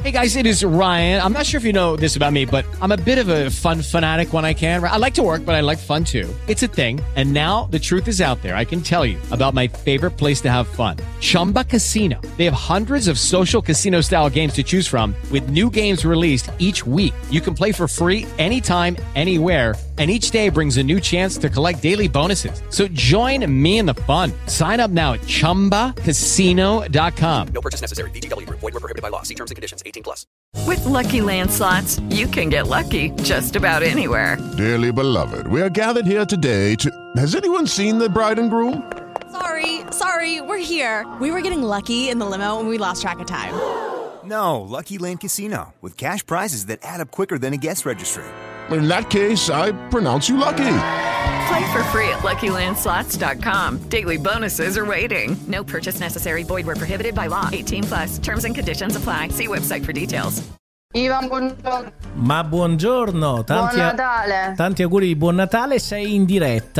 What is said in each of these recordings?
Hey guys, it is Ryan. I'm not sure if you know this about me, but I'm a bit of a fun fanatic when I can. I like to work, but I like fun too. It's a thing. And now the truth is out there. I can tell you about my favorite place to have fun. Chumba Casino. They have hundreds of social casino style games to choose from with new games released each week. You can play for free anytime, anywhere. And each day brings a new chance to collect daily bonuses. So join me in the fun. Sign up now at ChumbaCasino.com. No purchase necessary. VGW Group. Void where prohibited by law. See terms and conditions. 18+. With Lucky Land Slots, you can get lucky just about anywhere. Dearly beloved, we are gathered here today to... Has anyone seen the bride and groom? Sorry, we're here. We were getting lucky in the limo and we lost track of time. No, Lucky Land Casino, with cash prizes that add up quicker than a guest registry. In that case, I pronounce you lucky. Play for free at LuckyLandSlots.com. Daily bonuses are waiting. No purchase necessary. Void where prohibited by law. 18+. Terms and conditions apply. See website for details. Ivan, buongiorno. Ma buongiorno, Buon Natale. Tanti auguri di buon Natale, sei in diretta?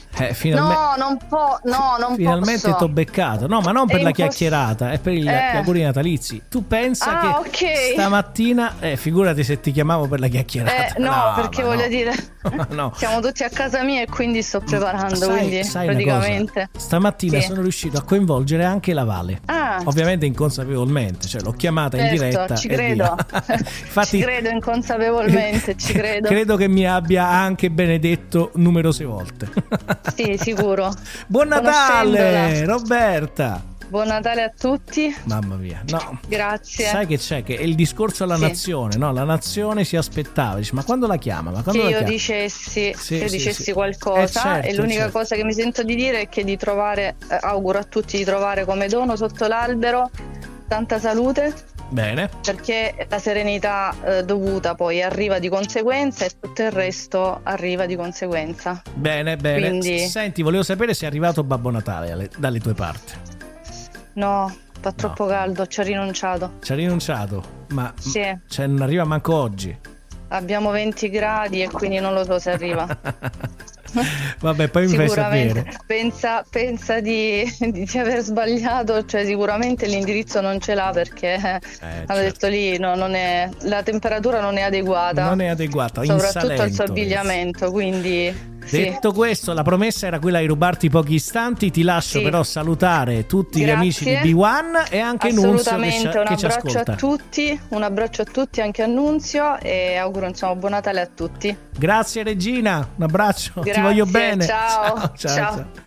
Finalmente t'ho beccato. No, ma non per la chiacchierata, è per gli auguri natalizi. Tu pensa che stamattina figurati se ti chiamavo per la chiacchierata. No, perché voglio dire no. siamo tutti a casa mia e quindi sto preparando, quindi praticamente stamattina sono riuscito a coinvolgere anche la Vale. Ovviamente inconsapevolmente, cioè l'ho chiamata in diretta. Ci credo. Infatti, ci credo inconsapevolmente, ci credo. Credo che mi abbia anche benedetto numerose volte. Sì, sicuro. Buon Natale, Roberta. Buon Natale a tutti. Mamma mia, no. Grazie. Sai che c'è? Che è il discorso alla nazione, no? La nazione si aspettava, dice, ma quando la chiama? Ma quando che la io chiama? dicessi qualcosa certo, e l'unica cosa che mi sento di dire è che di trovare, auguro a tutti di trovare come dono sotto l'albero tanta salute. Bene. Perché la serenità dovuta poi arriva di conseguenza e tutto il resto arriva di conseguenza. Bene. Quindi... Senti, volevo sapere se è arrivato Babbo Natale dalle tue parti. No, fa troppo caldo, ci ha rinunciato. Ma sì. Cioè, non arriva manco oggi. Abbiamo 20 gradi e quindi non lo so se arriva. Vabbè, poi mi fai sapere. Pensa di aver sbagliato, cioè sicuramente l'indirizzo non ce l'ha perché hanno detto lì non è, la temperatura non è adeguata, soprattutto al suo abbigliamento, quindi detto questo, la promessa era quella di rubarti pochi istanti. Ti lascio però salutare tutti gli amici di B1 e anche Nunzio che ci ascolta. Un abbraccio a tutti, anche a Nunzio, e auguro insomma buon Natale a tutti. Grazie Regina, un abbraccio. Ti voglio bene. Ciao.